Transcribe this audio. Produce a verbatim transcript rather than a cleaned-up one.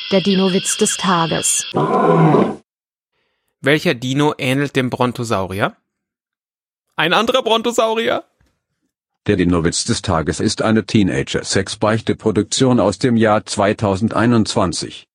Der Dino-Witz des Tages. Welcher Dino ähnelt dem Brontosaurier? Ein anderer Brontosaurier? Der Dino-Witz des Tages ist eine Teenager-Sex-Beichte-Produktion aus dem Jahr zweitausendeinundzwanzig.